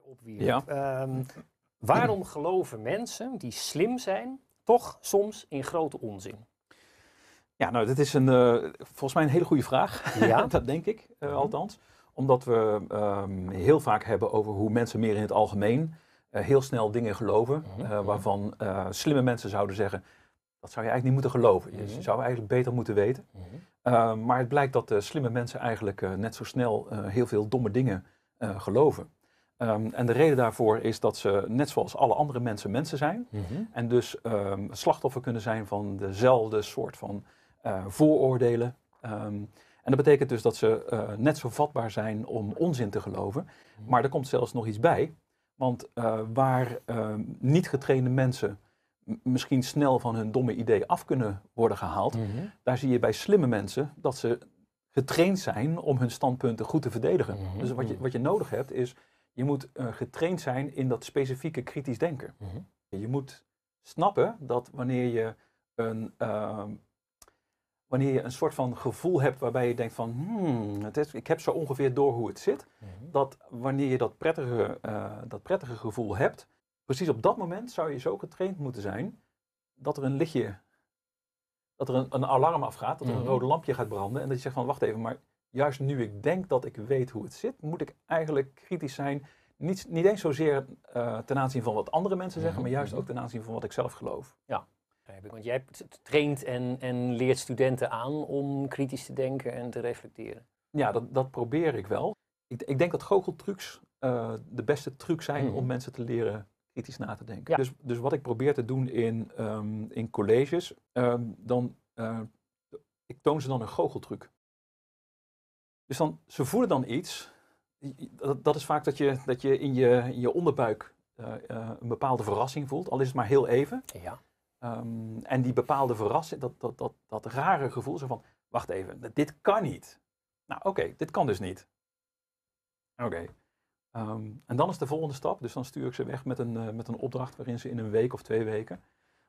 opwierp. Ja. Waarom geloven mensen die slim zijn toch soms in grote onzin? Ja, nou, dat is volgens mij een hele goede vraag. Ja. Dat denk ik, althans. Omdat we heel vaak hebben over hoe mensen meer in het algemeen heel snel dingen geloven. Waarvan slimme mensen zouden zeggen, dat zou je eigenlijk niet moeten geloven. Je zou eigenlijk beter moeten weten. Maar het blijkt dat slimme mensen eigenlijk net zo snel heel veel domme dingen geloven. En de reden daarvoor is dat ze, net zoals alle andere mensen zijn. En dus slachtoffer kunnen zijn van dezelfde soort van vooroordelen. En dat betekent dus dat ze net zo vatbaar zijn om onzin te geloven. Maar er komt zelfs nog iets bij. Want waar niet getrainde mensen misschien snel van hun domme idee af kunnen worden gehaald, daar zie je bij slimme mensen dat ze getraind zijn om hun standpunten goed te verdedigen. Dus wat je nodig hebt is, je moet getraind zijn in dat specifieke kritisch denken. Je moet snappen dat wanneer je een soort van gevoel hebt waarbij je denkt van, ik heb zo ongeveer door hoe het zit, dat wanneer je dat prettige gevoel hebt, precies op dat moment zou je zo getraind moeten zijn dat er een lichtje, dat er een alarm afgaat, dat er een rode lampje gaat branden en dat je zegt van, wacht even, maar juist nu ik denk dat ik weet hoe het zit, moet ik eigenlijk kritisch zijn. Niet eens zozeer ten aanzien van wat andere mensen zeggen, maar juist ook ten aanzien van wat ik zelf geloof. Ja, want jij traint en leert studenten aan om kritisch te denken en te reflecteren. Ja, dat probeer ik wel. Ik denk dat goocheltrucs de beste truc zijn om mensen te leren kritisch na te denken. Ja. Dus wat ik probeer te doen in colleges, ik toon ze dan een goocheltruc. Dus ze voelen dan iets. Dat is vaak dat je in je onderbuik een bepaalde verrassing voelt, al is het maar heel even. Ja. En die bepaalde verrassing, dat rare gevoel, zo van, wacht even, dit kan niet. Nou oké, dit kan dus niet. Oké. En dan is de volgende stap, dus dan stuur ik ze weg met een opdracht waarin ze in een week of 2 weken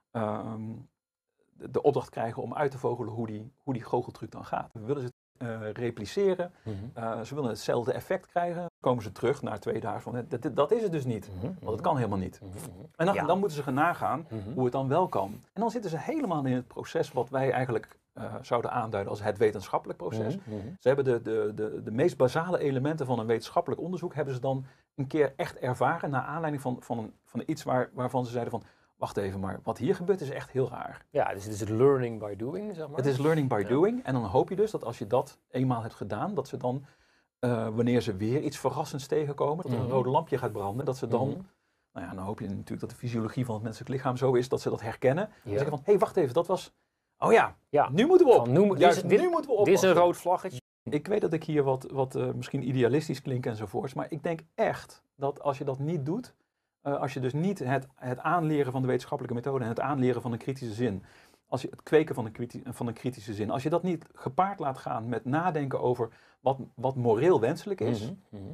de opdracht krijgen om uit te vogelen hoe die goocheltruc dan gaat. We willen ze repliceren, ze willen hetzelfde effect krijgen. Dan komen ze terug na 2 dagen van, dat is het dus niet, want het kan helemaal niet. En dan moeten ze gaan nagaan hoe het dan wel kan. En dan zitten ze helemaal in het proces wat wij eigenlijk zouden aanduiden als het wetenschappelijk proces. Ze hebben de meest basale elementen van een wetenschappelijk onderzoek hebben ze dan een keer echt ervaren naar aanleiding van iets waarvan ze zeiden van, wacht even, maar wat hier gebeurt is echt heel raar. Ja, dus het is learning by doing, zeg maar. Het is learning by doing. En dan hoop je dus dat als je dat eenmaal hebt gedaan, dat ze dan, wanneer ze weer iets verrassends tegenkomen, dat er een rode lampje gaat branden, dat ze dan, nou ja, dan hoop je natuurlijk dat de fysiologie van het menselijk lichaam zo is, dat ze dat herkennen. En zeggen van, hé, wacht even, dat was, oh ja, nu moeten we op. Nu moeten we op. Dit is een rood vlaggetje. Ik weet dat ik hier wat misschien idealistisch klink enzovoorts, maar ik denk echt dat als je dat niet doet, als je dus niet het aanleren van de wetenschappelijke methode en het aanleren van een kritische zin, als je het kweken van een kritische zin, als je dat niet gepaard laat gaan met nadenken over wat moreel wenselijk is,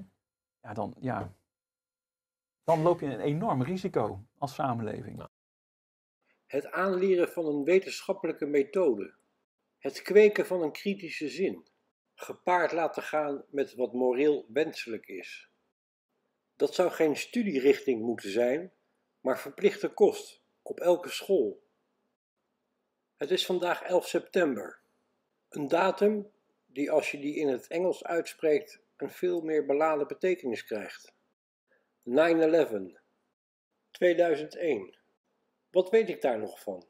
dan loop je een enorm risico als samenleving. Het aanleren van een wetenschappelijke methode, het kweken van een kritische zin, gepaard laten gaan met wat moreel wenselijk is. Dat zou geen studierichting moeten zijn, maar verplichte kost op elke school. Het is vandaag 11 september. Een datum die als je die in het Engels uitspreekt een veel meer beladen betekenis krijgt. 9/11. 2001. Wat weet ik daar nog van?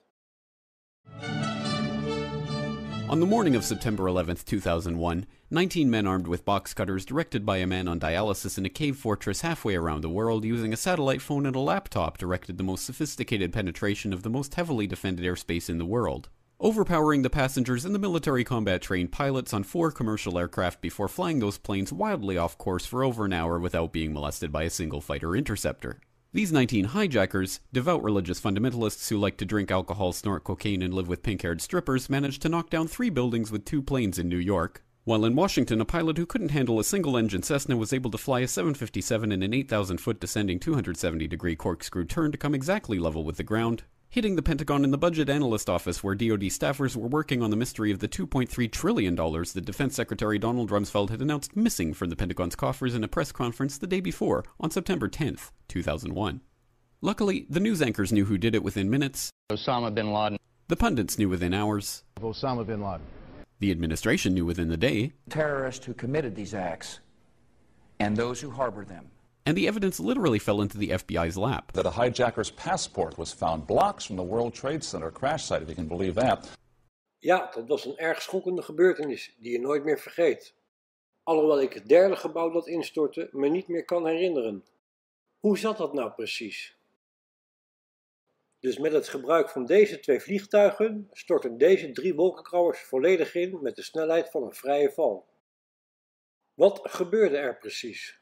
On the morning of September 11th, 2001, 19 men armed with box cutters directed by a man on dialysis in a cave fortress halfway around the world using a satellite phone and a laptop directed the most sophisticated penetration of the most heavily defended airspace in the world, overpowering the passengers and the military combat-trained pilots on 4 commercial aircraft before flying those planes wildly off course for over an hour without being molested by a single fighter interceptor. These 19 hijackers, devout religious fundamentalists who like to drink alcohol, snort cocaine, and live with pink-haired strippers, managed to knock down 3 buildings with 2 planes in New York, while in Washington a pilot who couldn't handle a single-engine Cessna was able to fly a 757 in an 8,000-foot descending 270-degree corkscrew turn to come exactly level with the ground, hitting the Pentagon in the Budget Analyst Office, where DoD staffers were working on the mystery of the $2.3 trillion that Defense Secretary Donald Rumsfeld had announced missing from the Pentagon's coffers in a press conference the day before, on September 10th, 2001. Luckily, the news anchors knew who did it within minutes. Osama bin Laden. The pundits knew within hours. Osama bin Laden. The administration knew within the day. Terrorists who committed these acts and those who harbored them. And the evidence literally fell into the FBI's lap. That a hijacker's passport was found blocks from the World Trade Center crash site, if you can believe that. Ja, dat was een erg schokkende gebeurtenis die je nooit meer vergeet. Alhoewel ik het derde gebouw dat instortte me niet meer kan herinneren. Hoe zat dat nou precies? Dus met het gebruik van deze 2 vliegtuigen stortten deze 3 wolkenkrabbers volledig in met de snelheid van een vrije val. Wat gebeurde er precies?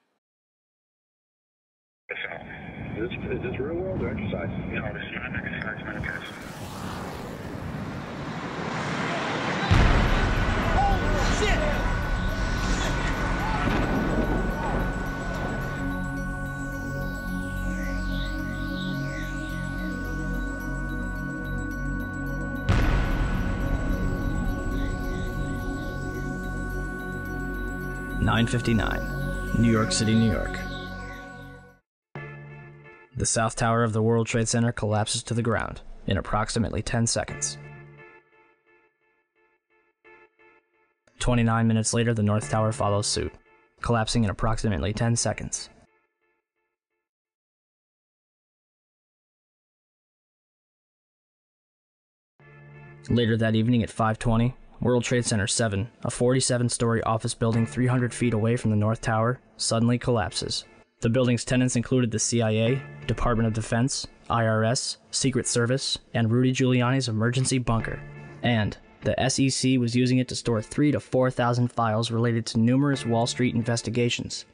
Is this real world or exercise? No, this is not an exercise, manifest. Oh, shit! (9:59), New York City, New York. The South Tower of the World Trade Center collapses to the ground in approximately 10 seconds. 29 minutes later, the North Tower follows suit, collapsing in approximately 10 seconds. Later that evening at 5:20, World Trade Center 7, a 47-story office building 300 feet away from the North Tower, suddenly collapses. The building's tenants included the CIA, Department of Defense, IRS, Secret Service, and Rudy Giuliani's emergency bunker. And the SEC was using it to store 3,000 to 4,000 files related to numerous Wall Street investigations.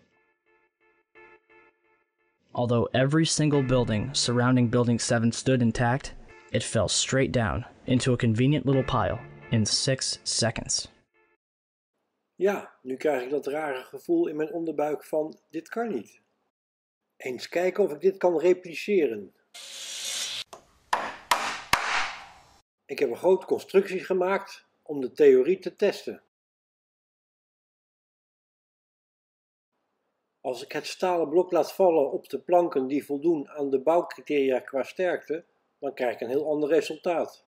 Although every single building surrounding Building 7 stood intact, it fell straight down into a convenient little pile in 6 seconds. Ja, nu krijg ik dat rare gevoel in mijn onderbuik van dit kan niet. Eens kijken of ik dit kan repliceren. Ik heb een grote constructie gemaakt om de theorie te testen. Als ik het stalen blok laat vallen op de planken die voldoen aan de bouwcriteria qua sterkte, dan krijg ik een heel ander resultaat.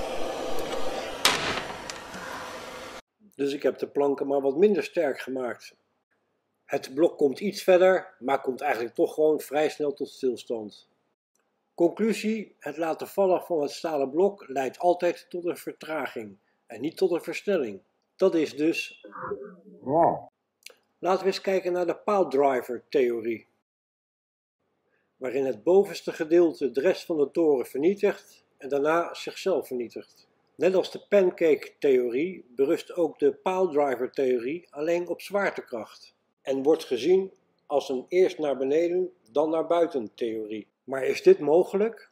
Dus ik heb de planken maar wat minder sterk gemaakt. Het blok komt iets verder, maar komt eigenlijk toch gewoon vrij snel tot stilstand. Conclusie: het laten vallen van het stalen blok leidt altijd tot een vertraging en niet tot een versnelling. Dat is dus... Laten we eens kijken naar de piledriver-theorie, waarin het bovenste gedeelte de rest van de toren vernietigt en daarna zichzelf vernietigt. Net als de pancake-theorie berust ook de piledriver-theorie alleen op zwaartekracht en wordt gezien als een eerst naar beneden dan naar buiten theorie. Maar is dit mogelijk?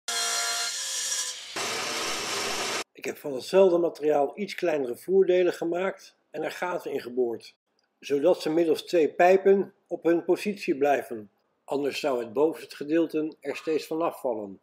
Ik heb van hetzelfde materiaal iets kleinere voerdelen gemaakt en er gaten in geboord, zodat ze middels 2 pijpen op hun positie blijven. Anders zou het bovenste gedeelte er steeds vanaf vallen.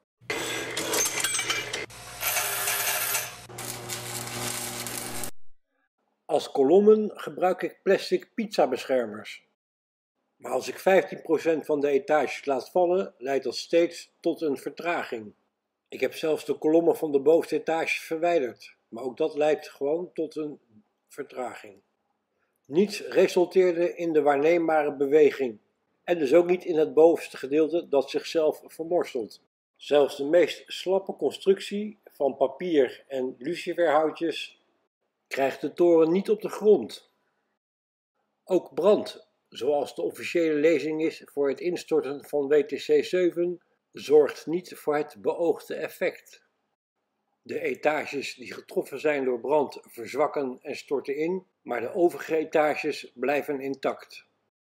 Als kolommen gebruik ik plastic pizzabeschermers. Maar als ik 15% van de etages laat vallen, leidt dat steeds tot een vertraging. Ik heb zelfs de kolommen van de bovenste etage verwijderd, maar ook dat leidt gewoon tot een vertraging. Niets resulteerde in de waarneembare beweging en dus ook niet in het bovenste gedeelte dat zichzelf vermorselt. Zelfs de meest slappe constructie van papier en luciferhoutjes krijgt de toren niet op de grond. Ook brand, zoals de officiële lezing is voor het instorten van WTC 7, zorgt niet voor het beoogde effect. De etages die getroffen zijn door brand verzwakken en storten in, maar de overige etages blijven intact.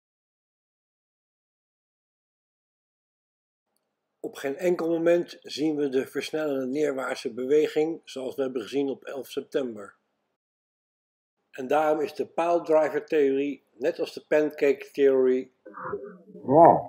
Op geen enkel moment zien we de versnellende neerwaartse beweging zoals we hebben gezien op 11 september. En daarom is de piledriver-theorie, net als de pancake-theorie,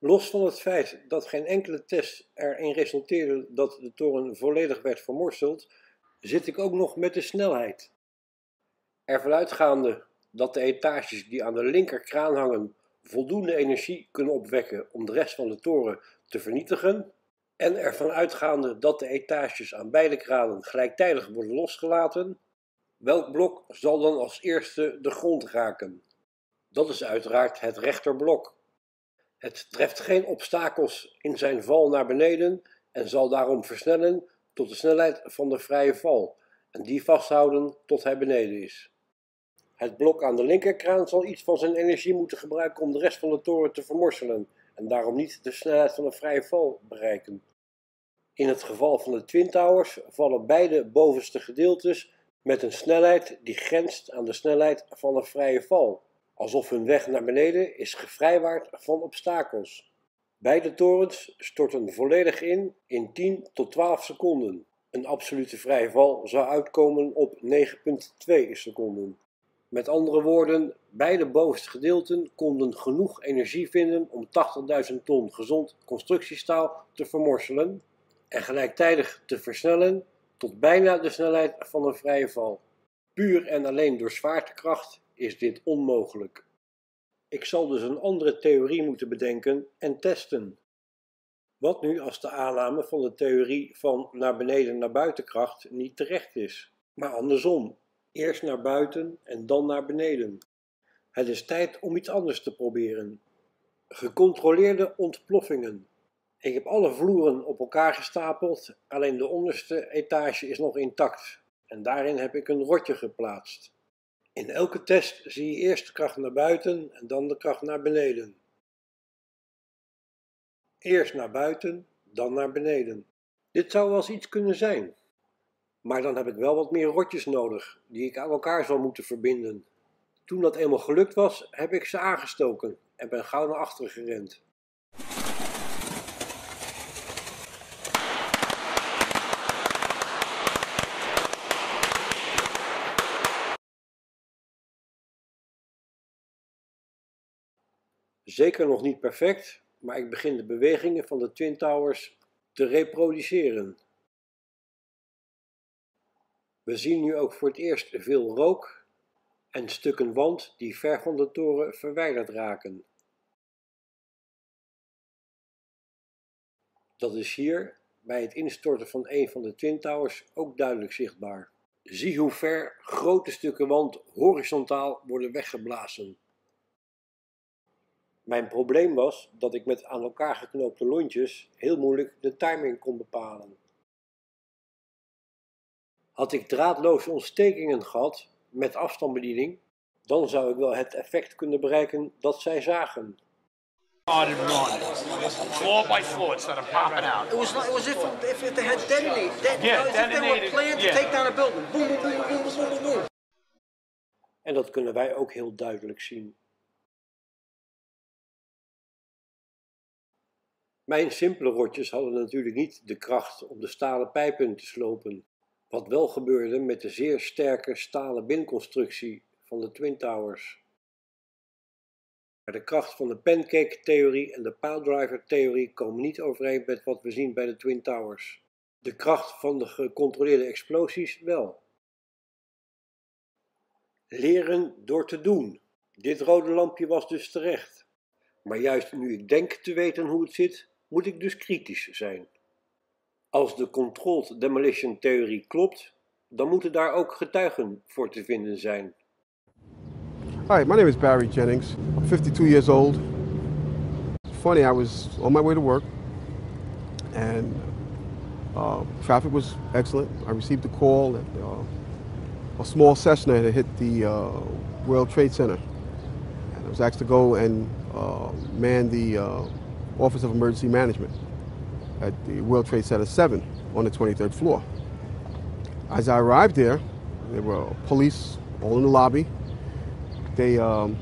Los van het feit dat geen enkele test erin resulteerde dat de toren volledig werd vermorseld, zit ik ook nog met de snelheid. Ervan uitgaande dat de etages die aan de linkerkraan hangen voldoende energie kunnen opwekken om de rest van de toren te vernietigen, en ervan uitgaande dat de etages aan beide kranen gelijktijdig worden losgelaten, welk blok zal dan als eerste de grond raken? Dat is uiteraard het rechterblok. Het treft geen obstakels in zijn val naar beneden en zal daarom versnellen tot de snelheid van de vrije val en die vasthouden tot hij beneden is. Het blok aan de linkerkraan zal iets van zijn energie moeten gebruiken om de rest van de toren te vermorselen en daarom niet de snelheid van een vrije val bereiken. In het geval van de Twin Towers vallen beide bovenste gedeeltes met een snelheid die grenst aan de snelheid van een vrije val, alsof hun weg naar beneden is gevrijwaard van obstakels. Beide torens storten volledig in 10 tot 12 seconden. Een absolute vrije val zou uitkomen op 9,2 seconden. Met andere woorden, beide bovenste gedeelten konden genoeg energie vinden om 80.000 ton gezond constructiestaal te vermorselen en gelijktijdig te versnellen tot bijna de snelheid van een vrije val. Puur en alleen door zwaartekracht is dit onmogelijk. Ik zal dus een andere theorie moeten bedenken en testen. Wat nu als de aanname van de theorie van naar beneden naar buitenkracht niet terecht is, maar andersom, eerst naar buiten en dan naar beneden? Het is tijd om iets anders te proberen. Gecontroleerde ontploffingen. Ik heb alle vloeren op elkaar gestapeld, alleen de onderste etage is nog intact en daarin heb ik een rotje geplaatst. In elke test zie je eerst de kracht naar buiten en dan de kracht naar beneden. Eerst naar buiten, dan naar beneden. Dit zou wel eens iets kunnen zijn. Maar dan heb ik wel wat meer rotjes nodig, die ik aan elkaar zal moeten verbinden. Toen dat eenmaal gelukt was, heb ik ze aangestoken en ben gauw naar achteren gerend. Zeker nog niet perfect, maar ik begin de bewegingen van de Twin Towers te reproduceren. We zien nu ook voor het eerst veel rook en stukken wand die ver van de toren verwijderd raken. Dat is hier, bij het instorten van een van de Twin Towers, ook duidelijk zichtbaar. Zie hoe ver grote stukken wand horizontaal worden weggeblazen. Mijn probleem was dat ik met aan elkaar geknoopte lontjes heel moeilijk de timing kon bepalen. Had ik draadloze ontstekingen gehad met afstandsbediening, dan zou ik wel het effect kunnen bereiken dat zij zagen. Floor by floor instead of popping out. It was if they had detonated. Yeah, as if they were detonated, planned to yeah. take down a building. Boom, boom, boom, boom, boom, boom, boom. En dat kunnen wij ook heel duidelijk zien. Mijn simpele rotjes hadden natuurlijk niet de kracht om de stalen pijpen te slopen, wat wel gebeurde met de zeer sterke stalen binconstructie van de Twin Towers. Maar de kracht van de pancake-theorie en de piledriver-theorie komen niet overeen met wat we zien bij de Twin Towers. De kracht van de gecontroleerde explosies wel. Leren door te doen. Dit rode lampje was dus terecht. Maar juist nu ik denk te weten hoe het zit, moet ik dus kritisch zijn. Als de controlled demolition theorie klopt, dan moeten daar ook getuigen voor te vinden zijn. Hi, my name is Barry Jennings. I'm 52 years old. It's funny, I was on my way to work and traffic was excellent. I received a call that a small Cessna had hit the World Trade Center. And I was asked to go and man the Office of Emergency Management at the World Trade Center 7 on the 23rd floor. As I arrived there were police all in the lobby. They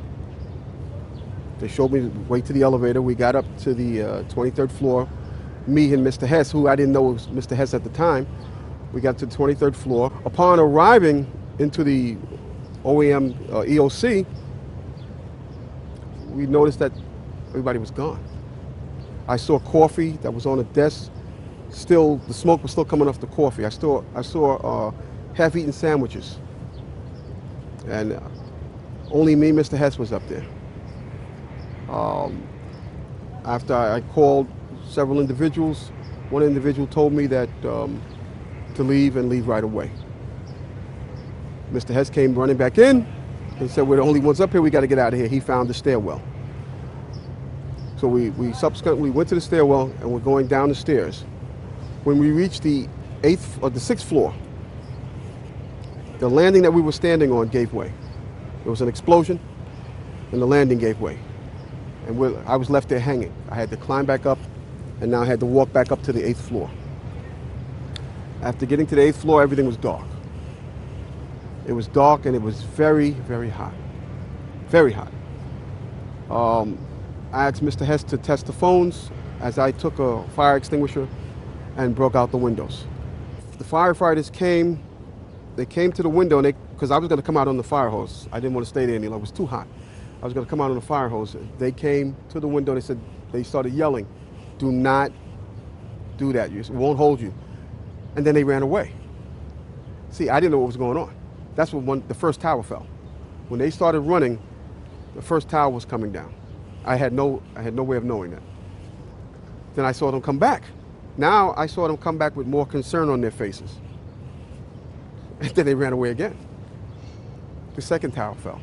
showed me the way to the elevator. We got up to the 23rd floor. Me and Mr. Hess, who I didn't know was Mr. Hess at the time, we got to the 23rd floor. Upon arriving into the OEM EOC, we noticed that everybody was gone. I saw coffee that was on a desk. Still, the smoke was still coming off the coffee. I saw half-eaten sandwiches. And only me, Mr. Hess, was up there. After I called several individuals, one individual told me that to leave and leave right away. Mr. Hess came running back in and said, we're the only ones up here, we got to get out of here. He found the stairwell. So we subsequently went to the stairwell and we're going down the stairs. When we reached the 6th floor, the landing that we were standing on gave way. There was an explosion and the landing gave way. And I was left there hanging. I had to climb back up and now I had to walk back up to the 8th floor. After getting to the 8th floor, everything was dark. It was dark and it was very, very hot. Very hot. I asked Mr. Hess to test the phones as I took a fire extinguisher and broke out the windows. The firefighters came, they came to the window because I was going to come out on the fire hose. I didn't want to stay there any longer. It was too hot. I was going to come out on the fire hose. They came to the window. They started yelling, do not do that. It won't hold you. And then they ran away. See, I didn't know what was going on. That's when the first tower fell. When they started running, the first tower was coming down. I had no way of knowing that. Then I saw them come back. Now I saw them come back with more concern on their faces. And then they ran away again. The second tower fell.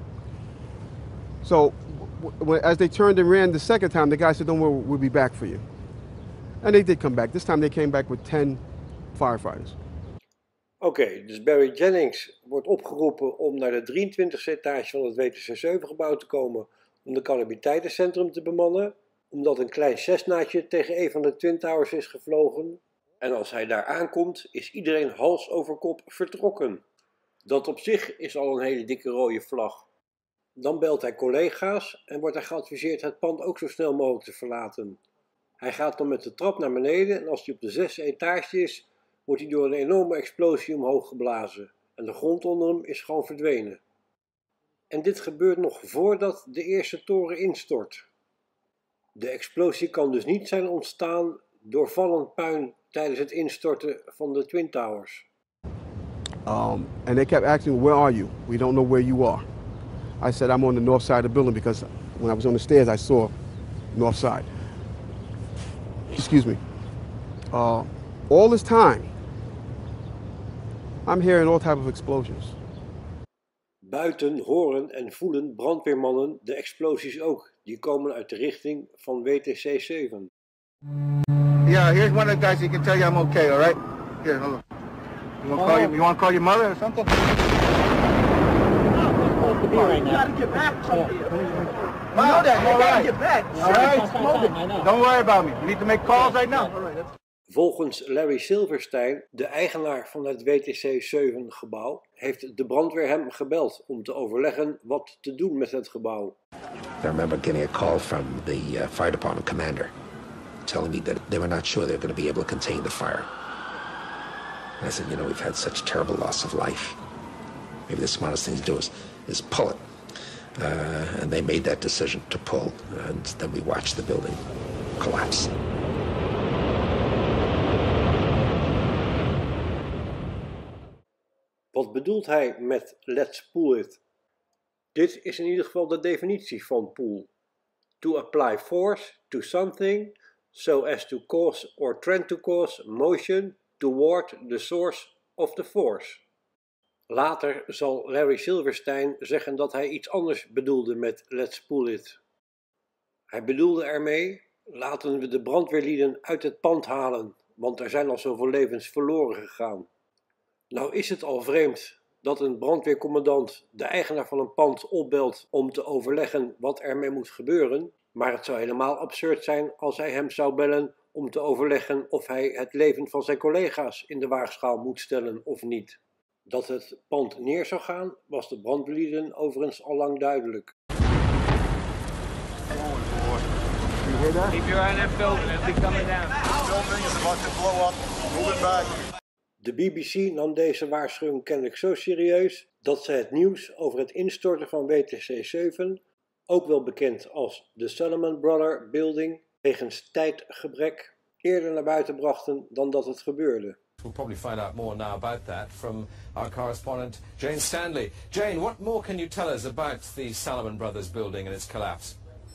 So as they turned and ran the second time, the guy said, don't worry, we'll be back for you. And they did come back. This time they came back with 10 firefighters. Oké, dus Barry Jennings wordt opgeroepen om naar de 23e etage van het WTC-7-gebouw te komen om de calamiteitencentrum te bemannen, omdat een klein Cessnaatje tegen een van de Twin Towers is gevlogen. En als hij daar aankomt, is iedereen hals over kop vertrokken. Dat op zich is al een hele dikke rode vlag. Dan belt hij collega's en wordt hij geadviseerd het pand ook zo snel mogelijk te verlaten. Hij gaat dan met de trap naar beneden en als hij op de 6e etage is, wordt hij door een enorme explosie omhoog geblazen. En de grond onder hem is gewoon verdwenen. En dit gebeurt nog voordat de eerste toren instort. De explosie kan dus niet zijn ontstaan door vallend puin tijdens het instorten van de Twin Towers. And they kept asking, where are you? We don't know where you are. I said, I'm on the north side of the building because when I was on the stairs, I saw north side. Excuse me. All this time, I'm hearing all types of explosions. Buiten horen en voelen brandweermannen de explosies ook. Die komen uit de richting van WTC 7. Yeah, here's one of the guys who can tell you I'm okay, all right? Here, hold on. You want to call your mother or something? You gotta get back something. You know that, you gotta get back. All right? Don't worry about me. You need to make calls right now. Volgens Larry Silverstein, de eigenaar van het WTC 7 gebouw, heeft de brandweer hem gebeld om te overleggen wat te doen met het gebouw. I remember getting a call from the fire department commander telling me that they were not sure they were going to be able to contain the fire. And I said, you know, we've had such terrible loss of life. Maybe the smartest thing to do is pull it. And they made that decision to pull, and then we watched the building collapse. Wat bedoelt hij met let's pull it? Dit is in ieder geval de definitie van pull. To apply force to something so as to cause or trend to cause motion toward the source of the force. Later zal Larry Silverstein zeggen dat hij iets anders bedoelde met let's pull it. Hij bedoelde ermee, laten we de brandweerlieden uit het pand halen, want er zijn al zoveel levens verloren gegaan. Nou is het al vreemd dat een brandweercommandant de eigenaar van een pand opbelt om te overleggen wat ermee moet gebeuren, maar het zou helemaal absurd zijn als hij hem zou bellen om te overleggen of hij het leven van zijn collega's in de waagschaal moet stellen of niet. Dat het pand neer zou gaan, was de brandweerlieden overigens al lang duidelijk. Keep your eye on that building, it'll be coming down. Building is about to blow up. Moving back. De BBC nam deze waarschuwing kennelijk zo serieus dat ze het nieuws over het instorten van WTC 7, ook wel bekend als de Salomon Brothers Building, wegens tijdgebrek eerder naar buiten brachten dan dat het gebeurde. We'll probably find out more now about that from our correspondent Jane Stanley. Jane, what more can you tell us about the Salomon Brothers building and its collapse?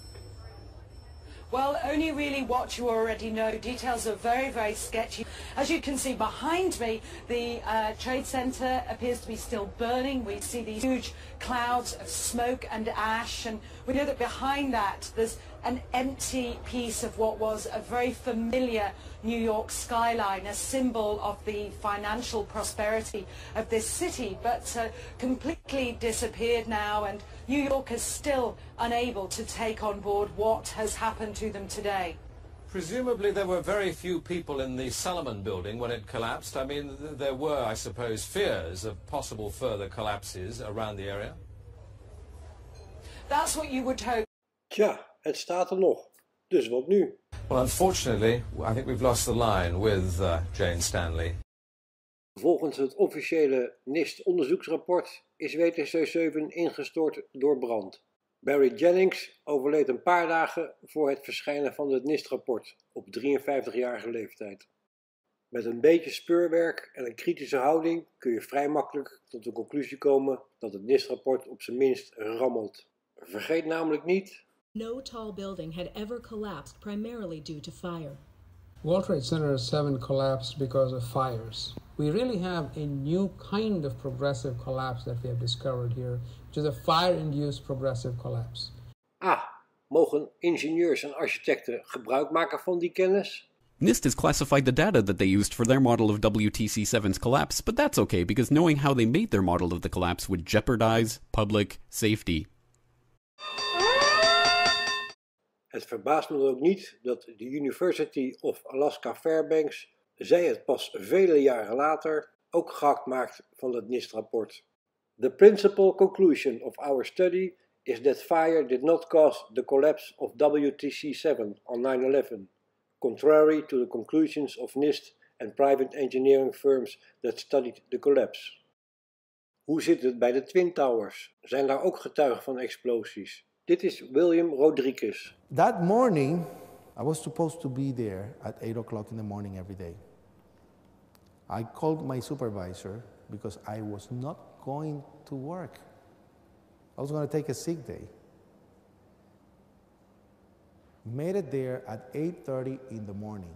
Well, only really what you already know. Details are very, very sketchy. As you can see behind me, the Trade Center appears to be still burning. We see these huge clouds of smoke and ash, and we know that behind that there's an empty piece of what was a very familiar New York skyline, a symbol of the financial prosperity of this city, but completely disappeared now, and New York is still unable to take on board what has happened to them today. Presumably there were very few people in the Salomon building when it collapsed. I mean, there were, I suppose, fears of possible further collapses around the area. That's what you would hope. Tja, het staat er nog. Dus wat nu? Well, unfortunately, I think we've lost the line with Jane Stanley. Volgens het officiële NIST-onderzoeksrapport is WTC-7 ingestort door brand. Barry Jennings overleed een paar dagen voor het verschijnen van het NIST-rapport op 53-jarige leeftijd. Met een beetje speurwerk en een kritische houding kun je vrij makkelijk tot de conclusie komen dat het NIST-rapport op zijn minst rammelt. Vergeet namelijk niet: no tall building had ever collapsed primarily due to fire. World Trade Center 7 collapsed because of fires. We really have a new kind of progressive collapse that we have discovered here, which is a fire-induced progressive collapse. Mogen ingenieurs en architecten gebruik maken van die kennis? NIST has classified the data that they used for their model of WTC-7's collapse, but that's okay because knowing how they made their model of the collapse would jeopardize public safety. Het verbaast me dan ook niet dat de University of Alaska Fairbanks, zij het pas vele jaren later, ook gehakt maakt van het NIST-rapport. The principal conclusion of our study is that fire did not cause the collapse of WTC-7 on 9/11, contrary to the conclusions of NIST and private engineering firms that studied the collapse. Hoe zit het bij de Twin Towers? Zijn daar ook getuigen van explosies? Dit is William Rodriguez. That morning, I was supposed to be there at 8 o'clock in the morning every day. I called my supervisor because I was not going to work. I was going to take a sick day. Made it there at 8:30 in the morning.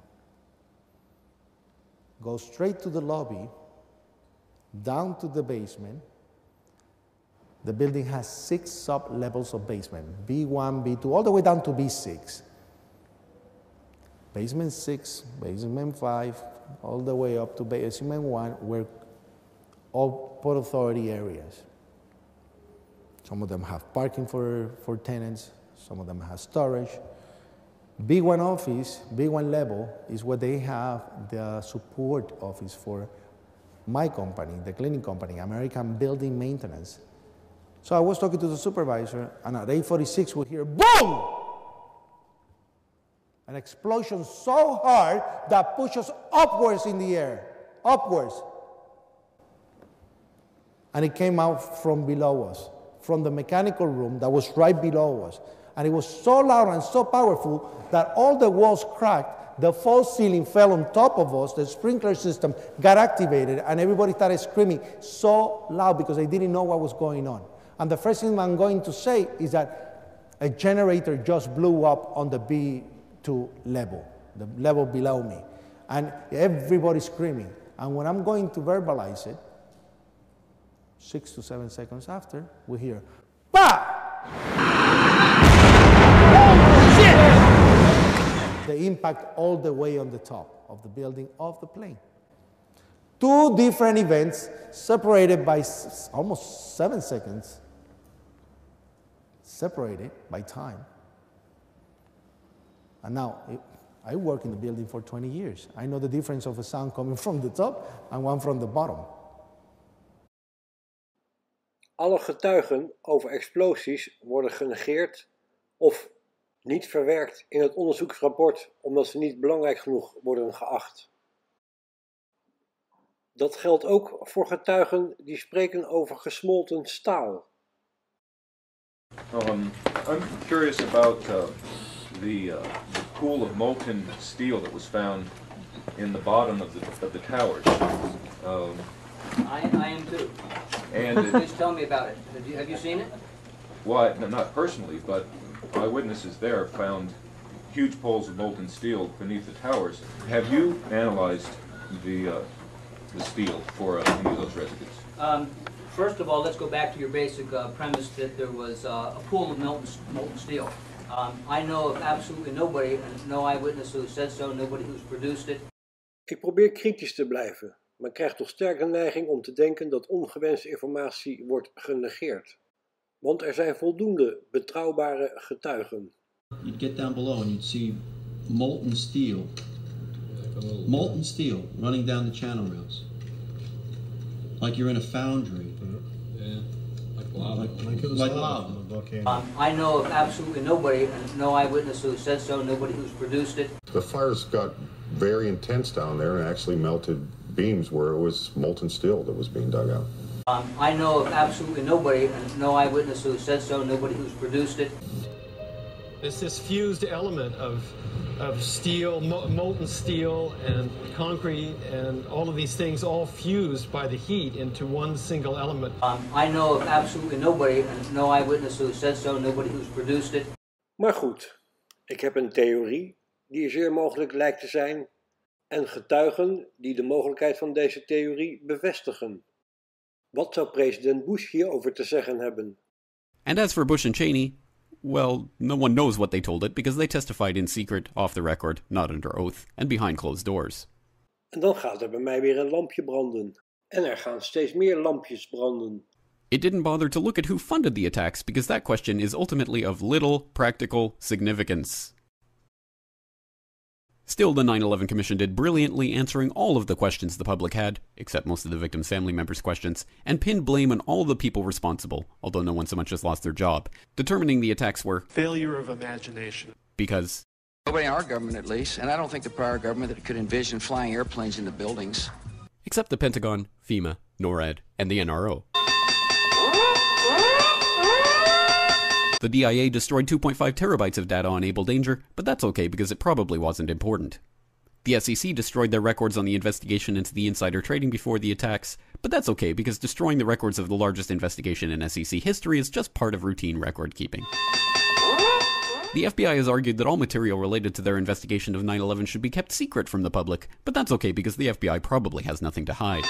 Go straight to the lobby, down to the basement. The building has 6 sub-levels of basement, B1, B2, all the way down to B6. Basement 6, basement 5, all the way up to basement 1 were all Port Authority areas. Some of them have parking for tenants, some of them have storage. B1 office, B1 level, is where they have the support office for my company, the cleaning company, American Building Maintenance. So I was talking to the supervisor, and at 8:46 we hear boom! An explosion so hard that pushes upwards in the air, upwards. And it came out from below us, from the mechanical room that was right below us. And it was so loud and so powerful that all the walls cracked, the false ceiling fell on top of us, the sprinkler system got activated, and everybody started screaming so loud because they didn't know what was going on. And the first thing I'm going to say is that a generator just blew up on the B2 level, the level below me. And everybody's screaming. And when I'm going to verbalize it, 6 to 7 seconds after, we hear, "Bah!" The impact all the way on the top of the building of the plane. 2 different events separated by almost 7 seconds, separated by time. And now, I work in the building for 20 years. I know the difference of a sound coming from the top and one from the bottom. Alle getuigen over explosies worden genegeerd of niet verwerkt in het onderzoeksrapport omdat ze niet belangrijk genoeg worden geacht. Dat geldt ook voor getuigen die spreken over gesmolten staal. I'm curious about the pool of molten steel that was found in the bottom of the towers. I am too. And please tell me about it. Have you seen it? Well, not personally, but eyewitnesses there found huge pools of molten steel beneath the towers. Have you analyzed the steel for any of those residues? First of all, let's go back to your basic premise that there was a pool of molten steel. I know of absolutely nobody, and no eyewitness who said so, nobody who's produced it. Ik probeer kritisch te blijven, maar krijg toch sterk de neiging om te denken dat ongewenste informatie wordt genegeerd. Want er zijn voldoende betrouwbare getuigen. You'd get down below and you'd see molten steel running down the channel rails. Like you're in a foundry. Yeah, like lava. Like lava. I know of absolutely nobody, and no eyewitness who said so, nobody who's produced it. The fires got very intense down there and actually melted beams where it was molten steel that was being dug out. I know of absolutely nobody, and no eyewitness who said so, nobody who's produced it. It's this fused element of steel, molten steel and concrete and all of these things all fused by the heat into one single element. I know of absolutely nobody, and no eyewitness who said so, nobody who's produced it. Maar goed, ik heb een theorie die zeer mogelijk lijkt te zijn en getuigen die de mogelijkheid van deze theorie bevestigen. Wat zou president Bush hierover te zeggen hebben? And as for Bush and Cheney, well, no one knows what they told it because they testified in secret, off the record, not under oath, and behind closed doors. En dan gaat er bij mij weer een lampje branden. En er gaan steeds meer lampjes branden. It didn't bother to look at who funded the attacks because that question is ultimately of little practical significance. Still, the 9/11 Commission did brilliantly answering all of the questions the public had, except most of the victims' family members' questions, and pinned blame on all the people responsible, although no one so much as lost their job, determining the attacks were failure of imagination. Because nobody in our government, at least, and I don't think the prior government that could envision flying airplanes into buildings. Except the Pentagon, FEMA, NORAD, and the NRO. The DIA destroyed 2.5 terabytes of data on Able Danger, but that's okay because it probably wasn't important. The SEC destroyed their records on the investigation into the insider trading before the attacks, but that's okay because destroying the records of the largest investigation in SEC history is just part of routine record keeping. The FBI has argued that all material related to their investigation of 9/11 should be kept secret from the public, but that's okay because the FBI probably has nothing to hide.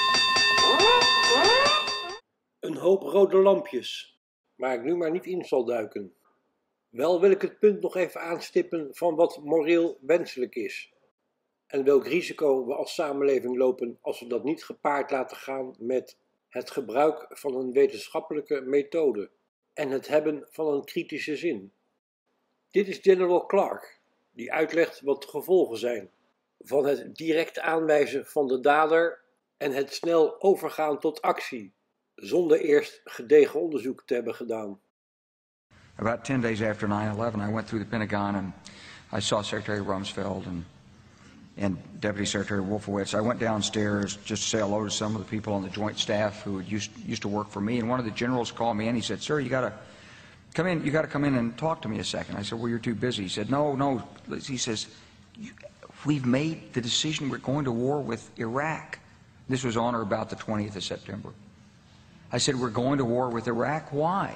Een hoop rode lampjes. Waar ik nu maar niet in zal duiken. Wel wil ik het punt nog even aanstippen van wat moreel wenselijk is. En welk risico we als samenleving lopen als we dat niet gepaard laten gaan met het gebruik van een wetenschappelijke methode en het hebben van een kritische zin. Dit is General Clark, die uitlegt wat de gevolgen zijn van het direct aanwijzen van de dader en het snel overgaan tot actie, zonder eerst gedegen onderzoek te hebben gedaan. About 10 days after 9/11, I went through the Pentagon and I saw Secretary Rumsfeld and Deputy Secretary Wolfowitz. I went downstairs just to say hello to some of the people on the joint staff who used to work for me. And one of the generals called me and he said, "Sir, you got to come in. You got to come in and talk to me a second." I said, "Well, you're too busy." He said, "No." He says, "We've made the decision. We're going to war with Iraq." This was on or about the 20th of September. I said, "We're going to war with Iraq. Why?"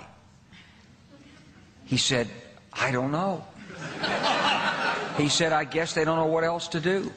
He said, "I don't know." He said, "I guess they don't know what else to do."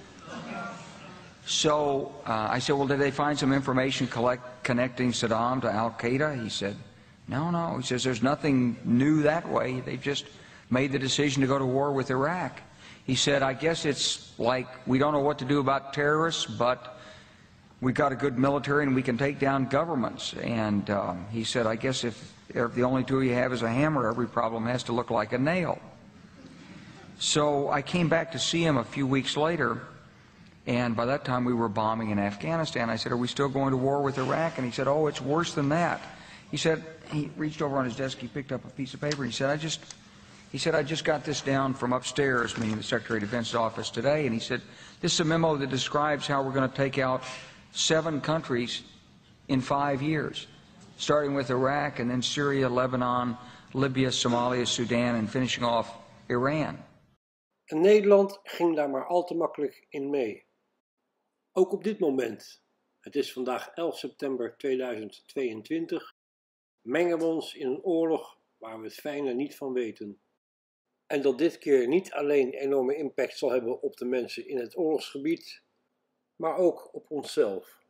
So I said, "Well, did they find some information connecting Saddam to Al-Qaeda?" He said, No. He says, "There's nothing new that way. They've just made the decision to go to war with Iraq." He said, "I guess it's like we don't know what to do about terrorists, but we've got a good military and we can take down governments." And he said, "I guess if the only tool you have is a hammer, every problem has to look like a nail." So I came back to see him a few weeks later, and by that time we were bombing in Afghanistan. I said, "Are we still going to war with Iraq?" And he said, "Oh, it's worse than that." He said, he reached over on his desk, he picked up a piece of paper, and he said, I just got this down from upstairs, meaning the Secretary of Defense's office today, and he said, "This is a memo that describes how we're going to take out 7 countries in 5 years, starting with Iraq and then Syria, Lebanon, Libya, Somalia, Sudan, and finishing off Iran." En Nederland ging daar maar al te makkelijk in mee. Ook op dit moment, het is vandaag 11 september 2022, mengen we ons in een oorlog waar we het fijne niet van weten. En dat dit keer niet alleen enorme impact zal hebben op de mensen in het oorlogsgebied, maar ook op onszelf.